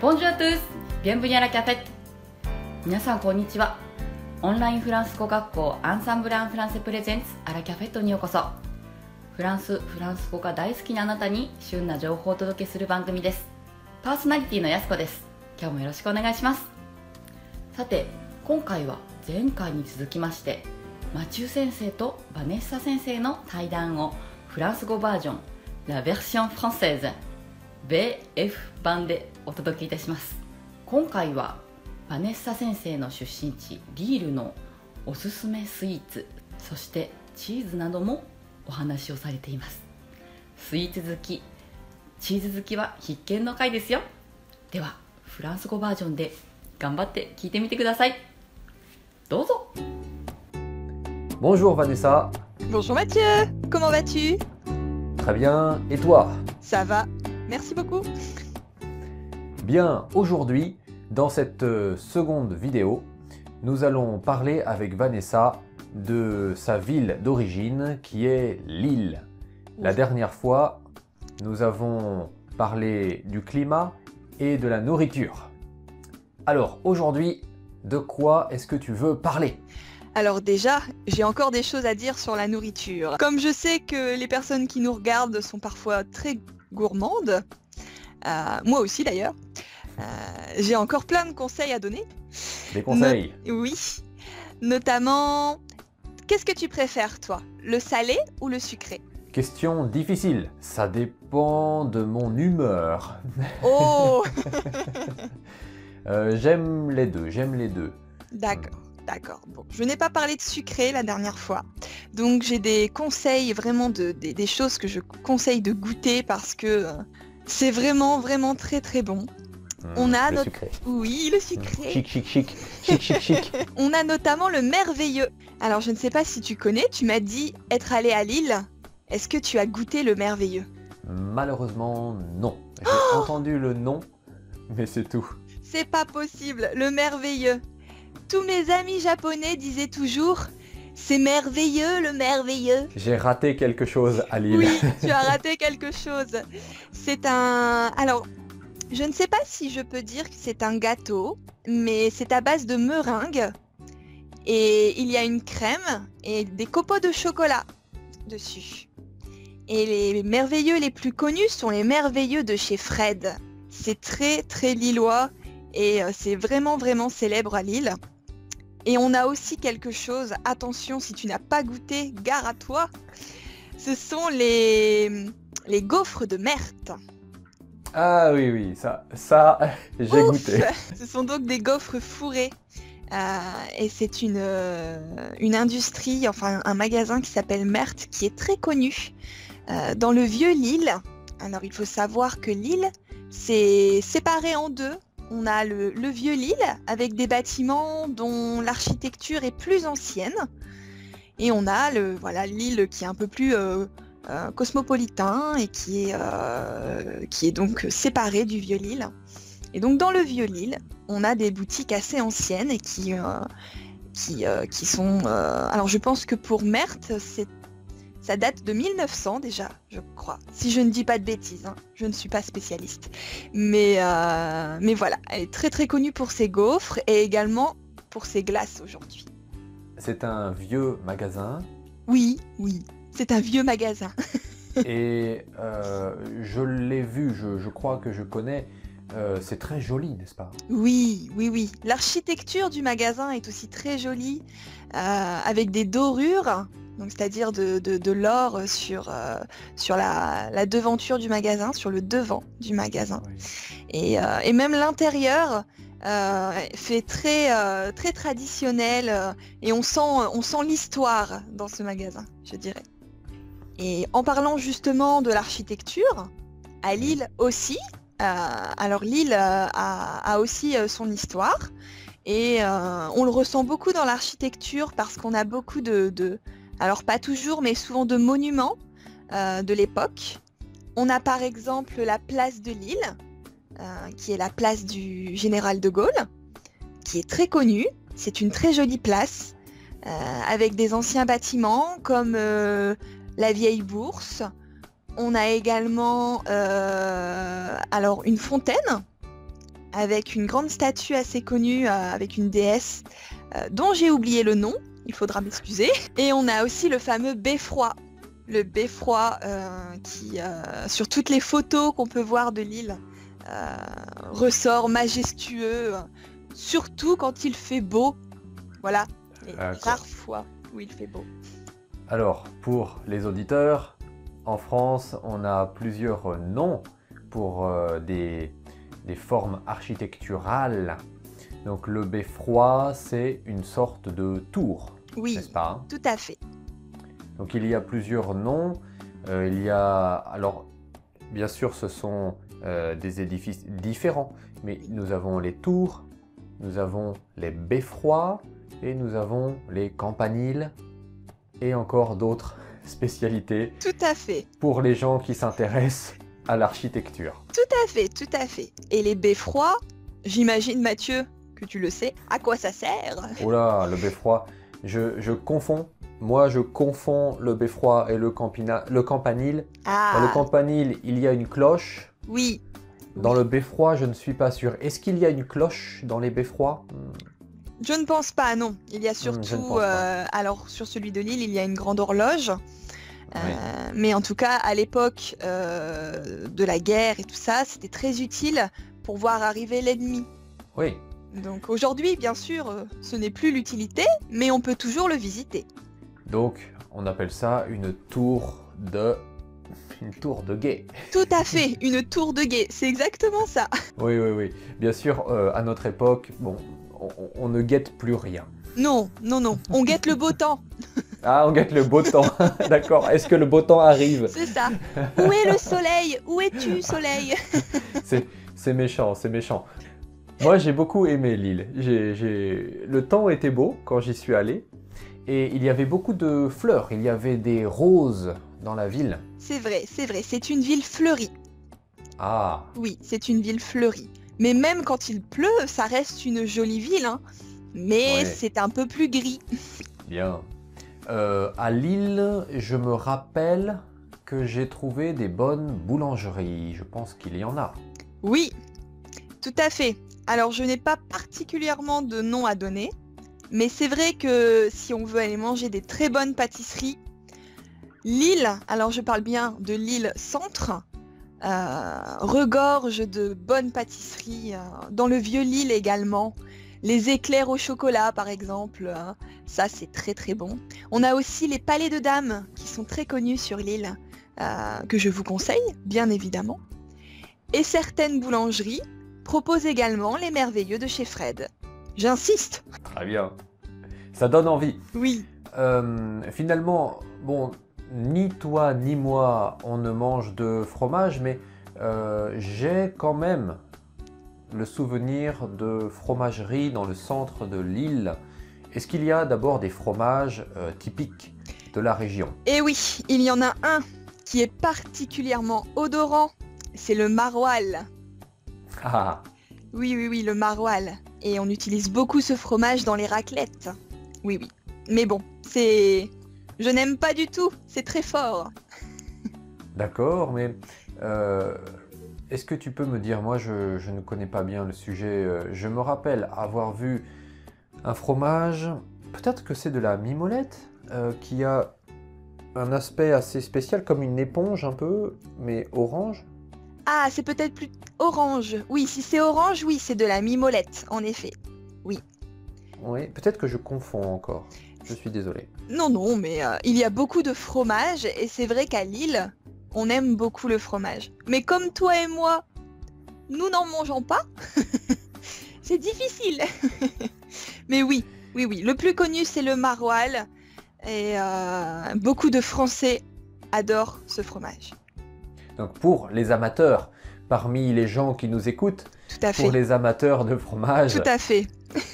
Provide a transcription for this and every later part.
Bonjour à tous! Bienvenue à la cafette! 皆さんこんにちは。オンラインフランス語学校アンサンブル・アン・フランセプレゼンツアラキャフェットにようこそ。フランス語が大好きなあなたに旬な情報をお届けする番組です。パーソナリティのやすこです。今日もよろしくお願いします。さて、今回は前回に続きましてマチュー先生とバネッサ先生の対談をフランス語バージョンLa version française BF 版でお届けいたします。今回はバネッサ先生の出身地リールのおすすめスイーツ、そしてチーズなどもお話をされています。スイーツ好き、チーズ好きは必見の回ですよ。ではフランス語バージョンで頑張って聞いてみてください。どうぞ。 Bonjour Vanessa. Bonjour Mathieu, comment vas-tu? Très bien, et toi? Ça va, merci beaucoup. Bien, aujourd'hui, dans cette seconde vidéo, nous allons parler avec Vanessa de sa ville d'origine qui est Lille. La dernière fois, nous avons parlé du climat et de la nourriture. Alors aujourd'hui, de quoi est-ce que tu veux parler? Alors déjà, j'ai encore des choses à dire sur la nourriture. Comme je sais que les personnes qui nous regardent sont parfois très gourmandes, moi aussi d'ailleurs, j'ai encore plein de conseils à donner. Des conseils? Oui, notamment, qu'est-ce que tu préfères toi? Le salé ou le sucré? Question difficile, ça dépend de mon humeur. Oh. J'aime les deux. D'accord. Bon, je n'ai pas parlé de sucré la dernière fois, donc j'ai des conseils, vraiment des choses que je conseille de goûter parce que c'est vraiment très très bon. On a le sucré. Oui, le sucré. Chic. On a notamment le merveilleux. Alors je ne sais pas si tu connais, tu m'as dit être allé à Lille. Est-ce que tu as goûté le merveilleux? Malheureusement, non. J'ai entendu le nom, mais c'est tout. C'est pas possible, le merveilleux. Tous mes amis japonais disaient toujours « C'est merveilleux, le merveilleux ». J'ai raté quelque chose à Lille. Oui, tu as raté quelque chose. C'est un... Alors, je ne sais pas si je peux dire que c'est un gâteau, mais c'est à base de meringue. Et il y a une crème et des copeaux de chocolat dessus. Et les merveilleux les plus connus sont les merveilleux de chez Fred. C'est très lillois et c'est vraiment célèbre à Lille. Et on a aussi quelque chose, attention si tu n'as pas goûté, gare à toi, ce sont les gaufres de Merthe. Ah oui, ça j'ai goûté. Ce sont donc des gaufres fourrées. Et c'est une industrie, enfin un magasin qui s'appelle Merthe, qui est très connu dans le vieux Lille. Alors il faut savoir que Lille, c'est séparé en deux. On a le vieux Lille avec des bâtiments dont l'architecture est plus ancienne. Et on a Lille qui est un peu plus cosmopolitain et qui est donc séparé du vieux Lille. Et donc dans le vieux Lille, on a des boutiques assez anciennes et qui sont... alors je pense que pour Merthe, ça date de 1900 déjà, je crois. Si je ne dis pas de bêtises, hein. Je ne suis pas spécialiste. Mais voilà, elle est très connue pour ses gaufres et également pour ses glaces aujourd'hui. C'est un vieux magasin. Oui, c'est un vieux magasin. Et je l'ai vu, je crois que je connais. C'est très joli, n'est-ce pas? Oui. L'architecture du magasin est aussi très jolie, avec des dorures. Donc c'est-à-dire de l'or sur la devanture du magasin, sur le devant du magasin. Oui. Et même l'intérieur fait très traditionnel et on sent l'histoire dans ce magasin, je dirais. Et en parlant justement de l'architecture, à Lille aussi, alors Lille a aussi son histoire et on le ressent beaucoup dans l'architecture parce qu'on a beaucoup alors pas toujours, mais souvent de monuments de l'époque. On a par exemple la place de Lille, qui est la place du général de Gaulle, qui est très connue. C'est une très jolie place, avec des anciens bâtiments comme la vieille bourse. On a également alors une fontaine avec une grande statue assez connue, avec une déesse dont j'ai oublié le nom, il faudra m'excuser. Et on a aussi le fameux beffroi. Le beffroi qui, sur toutes les photos qu'on peut voir de l'île, ressort majestueux, surtout quand il fait beau. Voilà, les rares fois où il fait beau. Alors, pour les auditeurs, en France, on a plusieurs noms pour des formes architecturales. Donc le beffroi, c'est une sorte de tour, oui, n'est-ce pas, hein? Tout à fait. Donc il y a plusieurs noms. Alors, bien sûr, ce sont des édifices différents, mais nous avons les tours, nous avons les beffrois et nous avons les campaniles et encore d'autres spécialités. Tout à fait. Pour les gens qui s'intéressent à l'architecture. Tout à fait, tout à fait. Et les beffrois, j'imagine, Mathieu, que tu le sais, à quoi ça sert? Oh là, le beffroi, je confonds. Moi, je confonds le beffroi et le campanile. Ah. Dans le campanile, il y a une cloche. Oui. Dans le beffroi, je ne suis pas sûr. Est-ce qu'il y a une cloche dans les beffrois? Je ne pense pas, non. Il y a surtout, alors sur celui de Lille, il y a une grande horloge. Oui. Mais en tout cas, à l'époque de la guerre et tout ça, c'était très utile pour voir arriver l'ennemi. Oui. Donc aujourd'hui, bien sûr, ce n'est plus l'utilité, mais on peut toujours le visiter. Donc, on appelle ça une tour de guet. Tout à fait, une tour de guet, c'est exactement ça. Oui, oui, oui. Bien sûr, à notre époque, bon, on ne guette plus rien. Non, non, non, on guette le beau temps. Ah, on guette le beau temps. D'accord. Est-ce que le beau temps arrive? C'est ça. Où est le soleil? Où es-tu, soleil? C'est méchant, c'est méchant. Moi, j'ai beaucoup aimé l'île. Le temps était beau quand j'y suis allé. Et il y avait beaucoup de fleurs. Il y avait des roses dans la ville. C'est vrai, c'est vrai. C'est une ville fleurie. Ah. Oui, c'est une ville fleurie. Mais même quand il pleut, ça reste une jolie ville, hein. Mais Ouais. c'est un peu plus gris. Bien. À Lille, je me rappelle que j'ai trouvé des bonnes boulangeries. Je pense qu'il y en a. Oui, tout à fait. Alors, je n'ai pas particulièrement de nom à donner, mais c'est vrai que si on veut aller manger des très bonnes pâtisseries, Lille, alors je parle bien de Lille Centre, regorge de bonnes pâtisseries. Dans le vieux Lille également, les éclairs au chocolat par exemple, ça c'est très très bon. On a aussi les palais de dames qui sont très connus sur l'île, que je vous conseille, bien évidemment. Et certaines boulangeries proposent également les merveilleux de chez Fred. J'insiste. Très bien. Ça donne envie. Oui. Finalement, bon, ni toi ni moi, on ne mange de fromage, mais j'ai quand même le souvenir de fromagerie dans le centre de l'île. Est-ce qu'il y a d'abord des fromages typiques de la région? Et oui, il y en a un qui est particulièrement odorant, c'est le maroilles. Ah, Oui, oui, oui, le maroilles. Et on utilise beaucoup ce fromage dans les raclettes. Oui, oui. Mais bon, c'est... Je n'aime pas du tout, c'est très fort. d'accord, mais est-ce que tu peux me dire, moi je ne connais pas bien le sujet, je me rappelle avoir vu un fromage, peut-être que c'est de la mimolette, qui a un aspect assez spécial, comme une éponge un peu, mais orange. Ah, c'est peut-être plus orange. Oui, si c'est orange, oui, c'est de la mimolette, en effet. Oui, peut-être que je confonds encore, je suis désolé. Non, non, mais il y a beaucoup de fromage, et c'est vrai qu'à Lille, on aime beaucoup le fromage. Mais comme toi et moi, nous n'en mangeons pas, c'est difficile. Mais oui, oui, oui, le plus connu, c'est le maroilles, et beaucoup de Français adorent ce fromage. Donc pour les amateurs, parmi les gens qui nous écoutent, Tout à fait. pour les amateurs de fromage, Tout à fait.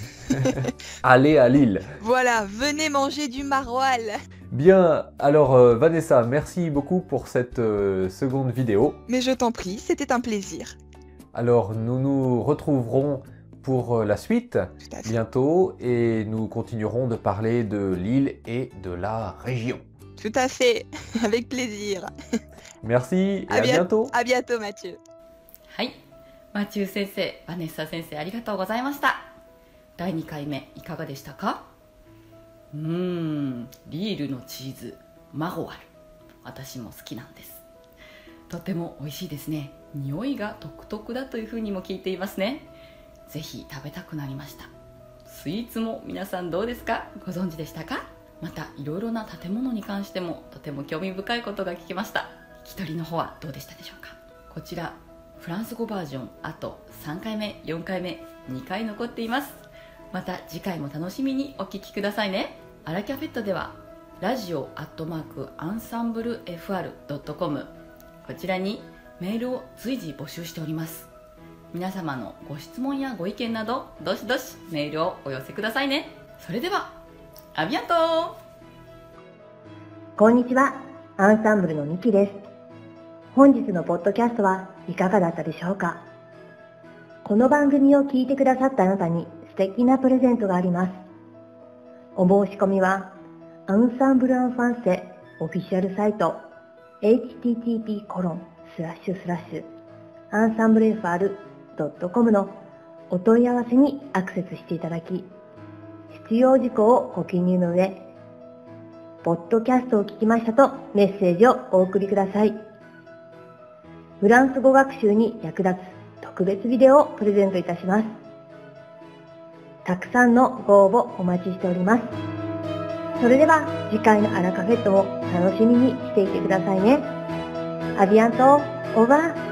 allez à Lille. Voilà, venez manger du maroilles. Bien, alors Vanessa, merci beaucoup pour cette seconde vidéo. Mais je t'en prie, c'était un plaisir. Alors nous nous retrouverons pour la suite Tout à fait. bientôt et nous continuerons de parler de l'île et de la région. Tout à fait, avec plaisir. Merci et À à bientôt. À bientôt, Mathieu. はい、 マチュー先生、バネッサ先生、ありがとうございました。第2回目いかがでしたか？リールのチーズマゴワル、私も好きなんです。とても美味しいですね。匂いが独特だというふうにも聞いていますね。ぜひ食べたくなりました。スイーツも皆さんどうですか？ご存知でしたか？またいろいろな建物に関してもとても興味深いことが聞きました。聞き取りの方はどうでしたでしょうか？こちらフランス語バージョン、あと3回目4回目2回残っています。また次回も楽しみにお聞きくださいね。アラキャフェットではラジオ@ensemblefr.com、 こちらにメールを随時募集しております。皆様のご質問やご意見などどしどしメールをお寄せくださいね。それではアビアント。 こんにちは、アンサンブルのミキです。本日のポッドキャストはいかがだったでしょうか？この番組を聞いてくださったあなたに素敵なプレゼントがあります。お申し込みはアンサンブル・アン・ファンセオフィシャルサイト http://ensemblefr.com のお問い合わせにアクセスしていただき、必要事項をご記入の上、ポッドキャストを聞きましたとメッセージをお送りください。フランス語学習に役立つ特別ビデオをプレゼントいたします。たくさんのご応募お待ちしております。それでは次回のアラカフェットも楽しみにしていてくださいね。アビアント、オーバー。